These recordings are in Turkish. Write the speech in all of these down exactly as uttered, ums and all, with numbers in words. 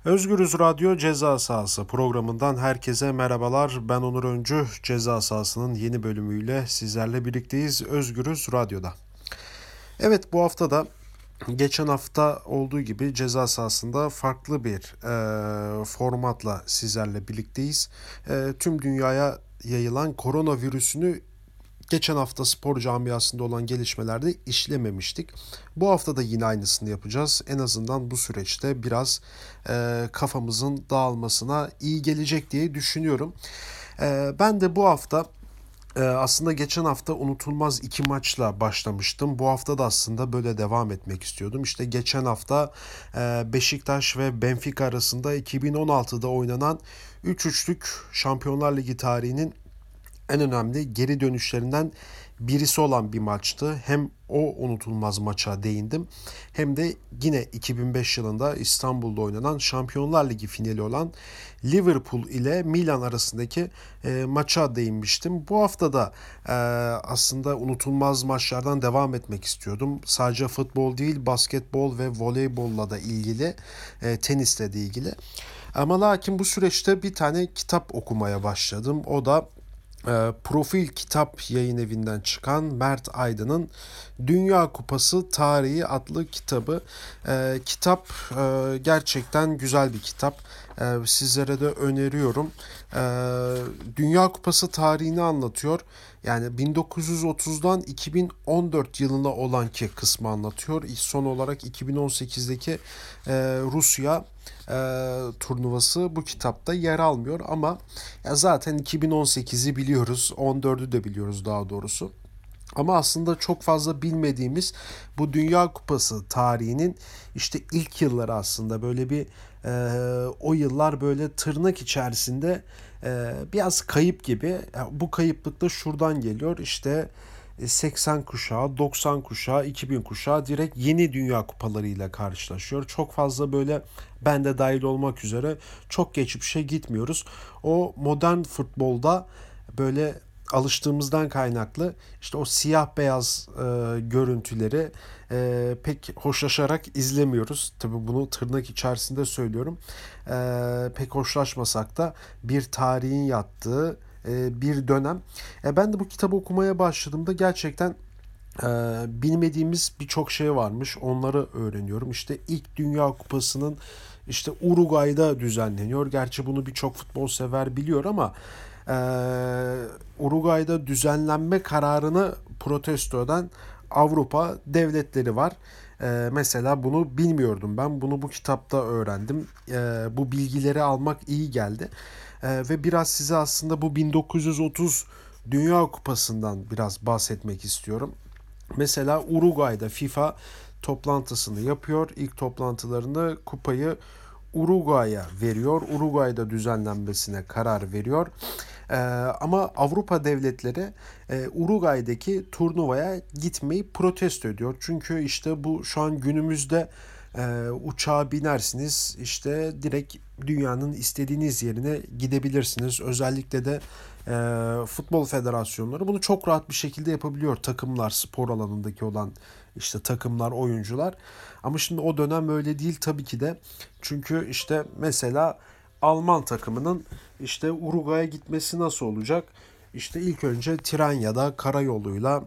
Özgürüz Radyo Ceza Sahası programından herkese merhabalar. Ben Onur Öncü. Ceza Sahası'nın yeni bölümüyle sizlerle birlikteyiz Özgürüz Radyo'da. Evet, bu hafta da geçen hafta olduğu gibi ceza sahasında farklı bir e, formatla sizlerle birlikteyiz. E, tüm dünyaya yayılan koronavirüsünü geçen hafta spor camiasında olan gelişmelerde işlememiştik. Bu hafta da yine aynısını yapacağız. En azından bu süreçte biraz e, kafamızın dağılmasına iyi gelecek diye düşünüyorum. E, ben de bu hafta ee, aslında geçen hafta unutulmaz iki maçla başlamıştım. Bu hafta da aslında böyle devam etmek istiyordum. İşte geçen hafta e, Beşiktaş ve Benfica arasında iki bin on altıda oynanan üç üçlük Şampiyonlar Ligi tarihinin en önemli geri dönüşlerinden birisi olan bir maçtı. Hem o unutulmaz maça değindim hem de yine iki bin beş yılında İstanbul'da oynanan Şampiyonlar Ligi finali olan Liverpool ile Milan arasındaki e, maça değinmiştim. Bu hafta da e, aslında unutulmaz maçlardan devam etmek istiyordum. Sadece futbol değil, basketbol ve voleybolla da ilgili, e, tenisle de ilgili. Ama lakin bu süreçte bir tane kitap okumaya başladım. O da e, Profil Kitap Yayın Evi'nden çıkan Mert Aydın'ın Dünya Kupası Tarihi adlı kitabı. E, kitap e, gerçekten güzel bir kitap. E, sizlere de öneriyorum. E, Dünya Kupası tarihini anlatıyor. Yani bin dokuz yüz otuzdan iki bin on dört yılına olan ki kısmı anlatıyor. Son olarak iki bin on sekizdeki e, Rusya e, turnuvası bu kitapta yer almıyor ama ya zaten iki bin on sekizi biliyoruz, on dördü de biliyoruz daha doğrusu. Ama aslında çok fazla bilmediğimiz bu Dünya Kupası tarihinin işte ilk yılları aslında böyle bir e, o yıllar böyle tırnak içerisinde e, biraz kayıp gibi. Yani bu kayıplık da şuradan geliyor. İşte seksen kuşağı, doksan kuşağı, iki bin kuşağı direkt yeni Dünya Kupalarıyla karşılaşıyor. Çok fazla böyle ben de dahil olmak üzere çok geçmişe gitmiyoruz. O modern futbolda böyle alıştığımızdan kaynaklı işte o siyah beyaz e, görüntüleri e, pek hoşlaşarak izlemiyoruz. Tabii bunu tırnak içerisinde söylüyorum. E, pek hoşlaşmasak da bir tarihin yattığı e, bir dönem. E, ben de bu kitabı okumaya başladığımda gerçekten e, bilmediğimiz birçok şey varmış. Onları öğreniyorum. İşte ilk Dünya Kupası'nın işte Uruguay'da düzenleniyor. Gerçi bunu birçok futbol sever biliyor ama e, Uruguay'da düzenlenme kararını protesto eden Avrupa devletleri var. E, mesela bunu bilmiyordum ben. Bunu bu kitapta öğrendim. E, bu bilgileri almak iyi geldi. E, ve biraz size aslında bu bin dokuz yüz otuz Dünya Kupası'ndan biraz bahsetmek istiyorum. Mesela Uruguay'da FIFA toplantısını yapıyor. İlk toplantılarında kupayı Uruguay'a veriyor. Uruguay'da düzenlenmesine karar veriyor. Ee, ama Avrupa devletleri e, Uruguay'daki turnuvaya gitmeyi protesto ediyor. Çünkü işte bu şu an günümüzde e, uçağa binersiniz işte direkt dünyanın istediğiniz yerine gidebilirsiniz. Özellikle de e, futbol federasyonları bunu çok rahat bir şekilde yapabiliyor. Takımlar, spor alanındaki olan işte takımlar, oyuncular. Ama şimdi o dönem öyle değil tabii ki de. Çünkü işte mesela Alman takımının işte Uruguay'a gitmesi nasıl olacak? İşte ilk önce tren ya da karayoluyla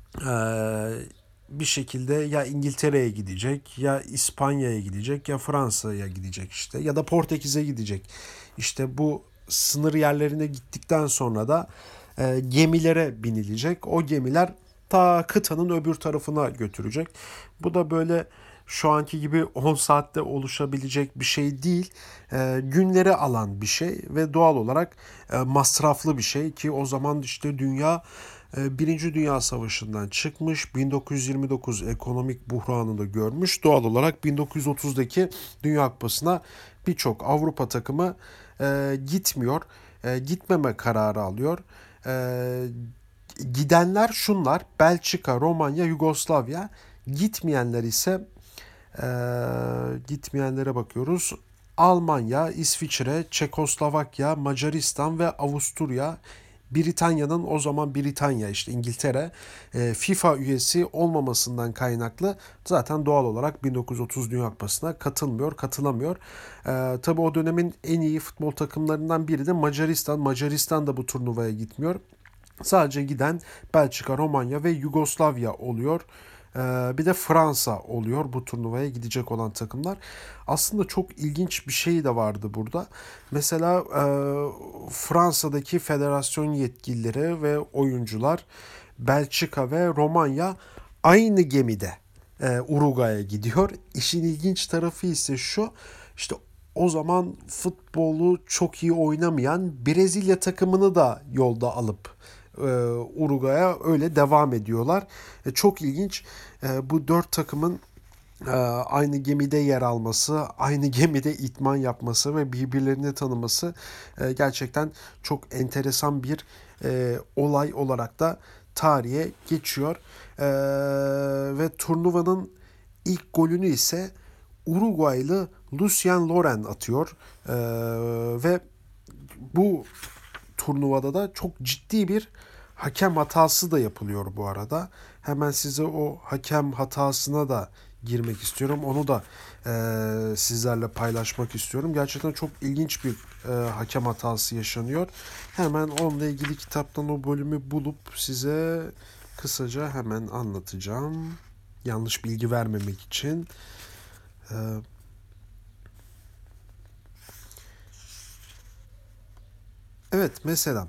eee, bir şekilde ya İngiltere'ye gidecek, ya İspanya'ya gidecek, ya Fransa'ya gidecek işte ya da Portekiz'e gidecek. İşte bu sınır yerlerine gittikten sonra da e, gemilere binilecek. O gemiler ta kıtanın öbür tarafına götürecek. Bu da böyle şu anki gibi on saatte oluşabilecek bir şey değil. E, günleri alan bir şey ve doğal olarak e, masraflı bir şey ki o zaman işte dünya e, Birinci Dünya Savaşı'ndan çıkmış, bin dokuz yüz yirmi dokuz ekonomik buhranını görmüş. Doğal olarak bin dokuz yüz otuzdaki Dünya Kupası'na birçok Avrupa takımı e, gitmiyor. E, gitmeme kararı alıyor. E, Gidenler şunlar: Belçika, Romanya, Yugoslavya. Gitmeyenler ise e, gitmeyenlere bakıyoruz. Almanya, İsviçre, Çekoslovakya, Macaristan ve Avusturya. Britanya'nın, o zaman Britanya işte İngiltere, e, FIFA üyesi olmamasından kaynaklı zaten doğal olarak bin dokuz yüz otuz Dünya Kupası'na katılmıyor, katılamıyor. E, tabii o dönemin en iyi futbol takımlarından biri de Macaristan. Macaristan da bu turnuvaya gitmiyor. Sadece giden Belçika, Romanya ve Yugoslavya oluyor. Ee, bir de Fransa oluyor bu turnuvaya gidecek olan takımlar. Aslında çok ilginç bir şey de vardı burada. Mesela e, Fransa'daki federasyon yetkilileri ve oyuncular Belçika ve Romanya aynı gemide e, Uruguay'a gidiyor. İşin ilginç tarafı ise şu. İşte o zaman futbolu çok iyi oynamayan Brezilya takımını da yolda alıp e, Uruguay'a öyle devam ediyorlar. E, çok ilginç. E, bu dört takımın e, aynı gemide yer alması, aynı gemide itman yapması ve birbirlerini tanıması e, gerçekten çok enteresan bir e, olay olarak da tarihe geçiyor. E, ve turnuvanın ilk golünü ise Uruguaylı Lucien Loren atıyor. E, ve bu turnuvada da çok ciddi bir hakem hatası da yapılıyor bu arada. Hemen size o hakem hatasına da girmek istiyorum. Onu da e, sizlerle paylaşmak istiyorum. Gerçekten çok ilginç bir e, hakem hatası yaşanıyor. Hemen onunla ilgili kitaptan o bölümü bulup size kısaca hemen anlatacağım. Yanlış bilgi vermemek için. E, evet mesela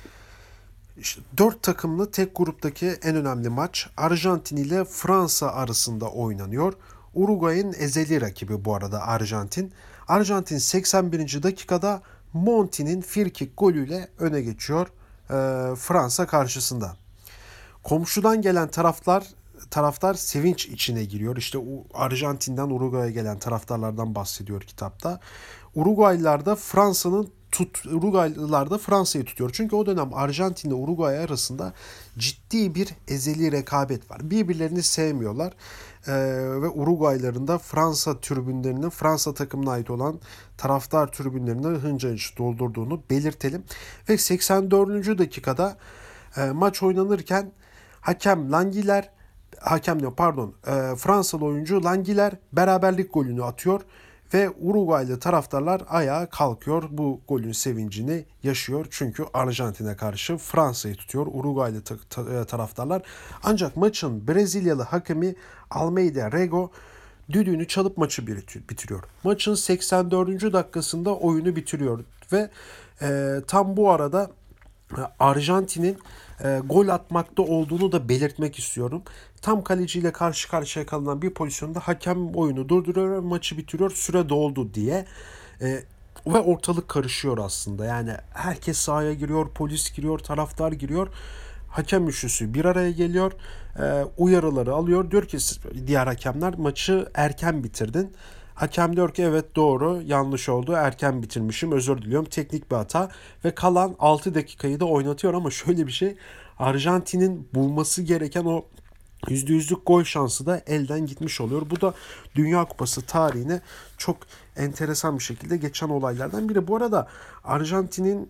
İşte dört takımlı tek gruptaki en önemli maç Arjantin ile Fransa arasında oynanıyor. Uruguay'ın ezeli rakibi bu arada Arjantin. Arjantin seksen birinci dakikada Monti'nin frikik golüyle öne geçiyor e, Fransa karşısında. Komşudan gelen taraftar taraftar sevinç içine giriyor. İşte Arjantin'den Uruguay'a gelen taraftarlardan bahsediyor kitapta. Uruguaylılar da Fransa'nın tut Uruguaylılar da Fransa'yı tutuyor. Çünkü o dönem Arjantin ile Uruguay arasında ciddi bir ezeli rekabet var. Birbirlerini sevmiyorlar. Ee, ve Uruguayların da Fransa tribünlerinin Fransa takımına ait olan taraftar tribünlerini hınca hınç doldurduğunu belirtelim. Ve seksen dördüncü dakikada e, maç oynanırken hakem Langiler hakem ne pardon e, Fransalı oyuncu Langiler beraberlik golünü atıyor ve Uruguaylı taraftarlar ayağa kalkıyor. Bu golün sevincini yaşıyor. Çünkü Arjantin'e karşı Fransa'yı tutuyor Uruguaylı ta- ta- taraftarlar. Ancak maçın Brezilyalı hakemi Almeida Rego düdüğünü çalıp maçı bitiriyor. Maçın seksen dördüncü dakikasında oyunu bitiriyor ve e, tam bu arada Arjantin'in e, gol atmakta olduğunu da belirtmek istiyorum. Tam kaleciyle karşı karşıya kalınan bir pozisyonda hakem oyunu durduruyor ve maçı bitiriyor. Süre doldu diye. E, ve ortalık karışıyor aslında. Yani herkes sahaya giriyor, polis giriyor, taraftar giriyor. Hakem üçlüsü bir araya geliyor. E, uyarıları alıyor. Diyor ki diğer hakemler maçı erken bitirdin. Hakem diyor ki evet doğru, yanlış oldu, erken bitirmişim, özür diliyorum, teknik bir hata ve kalan altı dakikayı da oynatıyor. Ama şöyle bir şey, Arjantin'in bulması gereken o yüzde yüzlük gol şansı da elden gitmiş oluyor. Bu da Dünya Kupası tarihine çok enteresan bir şekilde geçen olaylardan biri. Bu arada Arjantin'in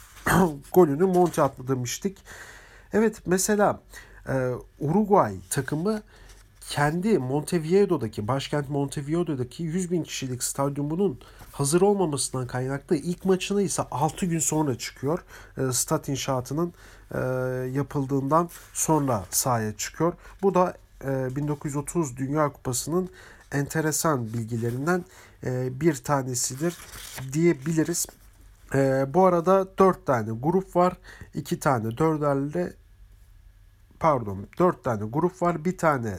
golünü Monti attı demiştik. Evet mesela e, Uruguay takımı kendi Montevideo'daki, başkent Montevideo'daki yüz bin kişilik stadyumunun hazır olmamasından kaynaklı ilk maçına ise altı gün sonra çıkıyor. E, stat inşaatının e, yapıldığından sonra sahaya çıkıyor. Bu da e, bin dokuz yüz otuz Dünya Kupası'nın enteresan bilgilerinden e, bir tanesidir diyebiliriz. E, bu arada dört tane grup var. iki tane dörderli pardon dört tane grup var. Bir tane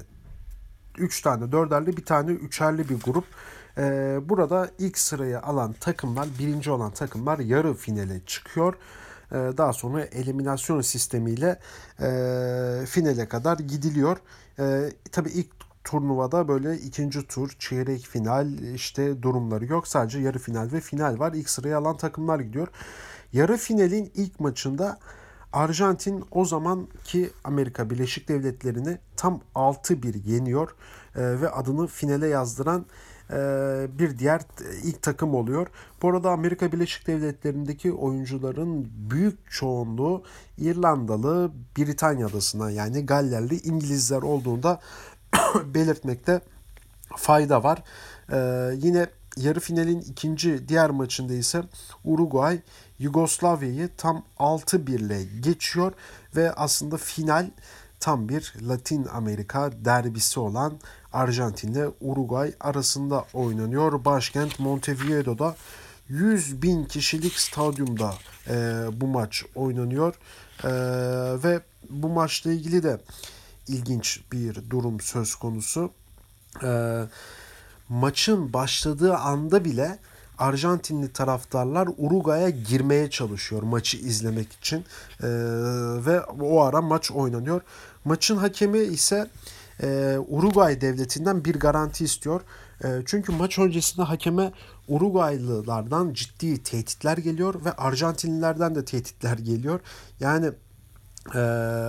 üç tane dörderli, bir tane üçerli bir grup. Ee, burada ilk sırayı alan takımlar, birinci olan takımlar yarı finale çıkıyor. Ee, daha sonra eliminasyon sistemiyle e, finale kadar gidiliyor. Ee, tabii ilk turnuvada böyle ikinci tur, çeyrek final işte durumları yok. Sadece yarı final ve final var. İlk sırayı alan takımlar gidiyor. Yarı finalin ilk maçında Arjantin o zamanki Amerika Birleşik Devletleri'ni tam altı bir yeniyor e, ve adını finale yazdıran e, bir diğer ilk takım oluyor. Bu arada Amerika Birleşik Devletleri'ndeki oyuncuların büyük çoğunluğu İrlandalı, Britanya adasından yani Gallerli İngilizler olduğunda belirtmekte fayda var. Ee, yine yarı finalin ikinci diğer maçında ise Uruguay Yugoslavya'yı tam altı bir ile geçiyor ve aslında final tam bir Latin Amerika derbisi olan Arjantin ile Uruguay arasında oynanıyor. Başkent Montevideo'da yüz bin kişilik stadyumda e, bu maç oynanıyor. E, ve bu maçla ilgili de ilginç bir durum söz konusu. E, maçın başladığı anda bile Arjantinli taraftarlar Uruguay'a girmeye çalışıyor maçı izlemek için. Ee, ve o ara maç oynanıyor. Maçın hakemi ise e, Uruguay devletinden bir garanti istiyor. E, çünkü maç öncesinde hakeme Uruguaylılardan ciddi tehditler geliyor ve Arjantinlilerden de tehditler geliyor. Yani e,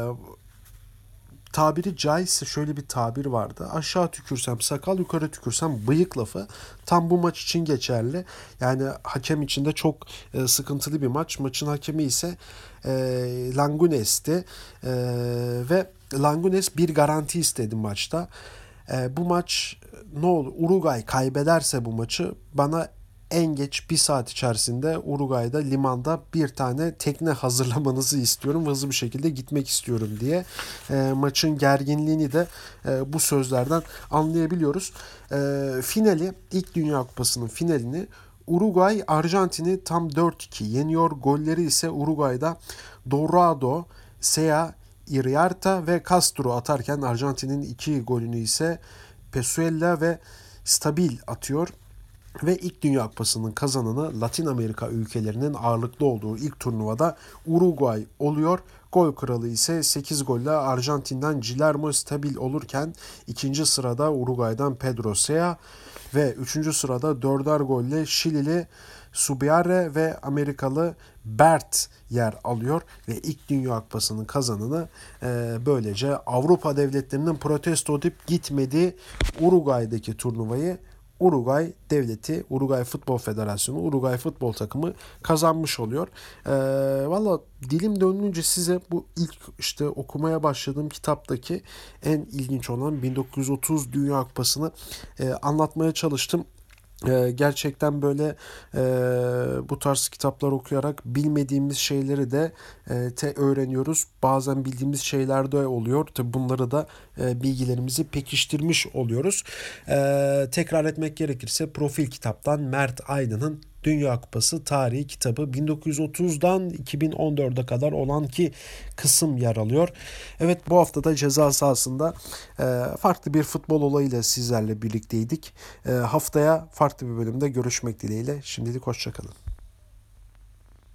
tabiri caizse şöyle bir tabir vardı. Aşağı tükürsem sakal, yukarı tükürsem bıyık lafı tam bu maç için geçerli. Yani hakem için de çok e, sıkıntılı bir maç. Maçın hakemi ise e, Langunes'ti. E, ve Langunes bir garanti istedi maçta. E, bu maç ne olur? Uruguay kaybederse bu maçı bana en geç bir saat içerisinde Uruguay'da limanda bir tane tekne hazırlamanızı istiyorum. Hızlı bir şekilde gitmek istiyorum diye. E, maçın gerginliğini de e, bu sözlerden anlayabiliyoruz. E, finali, ilk Dünya Kupası'nın finalini Uruguay Arjantin'i tam dört iki yeniyor. Golleri ise Uruguay'da Dorado, Sea, Iriarta ve Castro atarken Arjantin'in iki golünü ise Pesuela ve Stabil atıyor. Ve ilk Dünya Kupası'nın kazananı Latin Amerika ülkelerinin ağırlıklı olduğu ilk turnuvada Uruguay oluyor. Gol kralı ise sekiz golle Arjantin'den Guillermo Stabil olurken ikinci sırada Uruguay'dan Pedro Sea ve üçüncü sırada dörder golle Şilili Subiare ve Amerikalı Bert yer alıyor ve ilk Dünya Kupası'nın kazananı e, böylece Avrupa devletlerinin protesto edip gitmediği Uruguay'daki turnuvayı Uruguay devleti, Uruguay Futbol Federasyonu, Uruguay futbol takımı kazanmış oluyor. Ee, Valla dilim döndüğünce size bu ilk işte okumaya başladığım kitaptaki en ilginç olan bin dokuz yüz otuz Dünya Kupası'nı e, anlatmaya çalıştım. Ee, gerçekten böyle e, bu tarz kitaplar okuyarak bilmediğimiz şeyleri de e, te öğreniyoruz. Bazen bildiğimiz şeyler de oluyor. Tabii bunları da e, bilgilerimizi pekiştirmiş oluyoruz. E, tekrar etmek gerekirse Profil Kitap'tan Mert Aydın'ın Dünya Kupası tarihi kitabı bin dokuz yüz otuzdan iki bin on dörde kadar olan ki kısım yer alıyor. Evet, bu hafta da ceza sahasında e, farklı bir futbol olayıyla sizlerle birlikteydik. E, haftaya farklı bir bölümde görüşmek dileğiyle. Şimdilik hoşça kalın.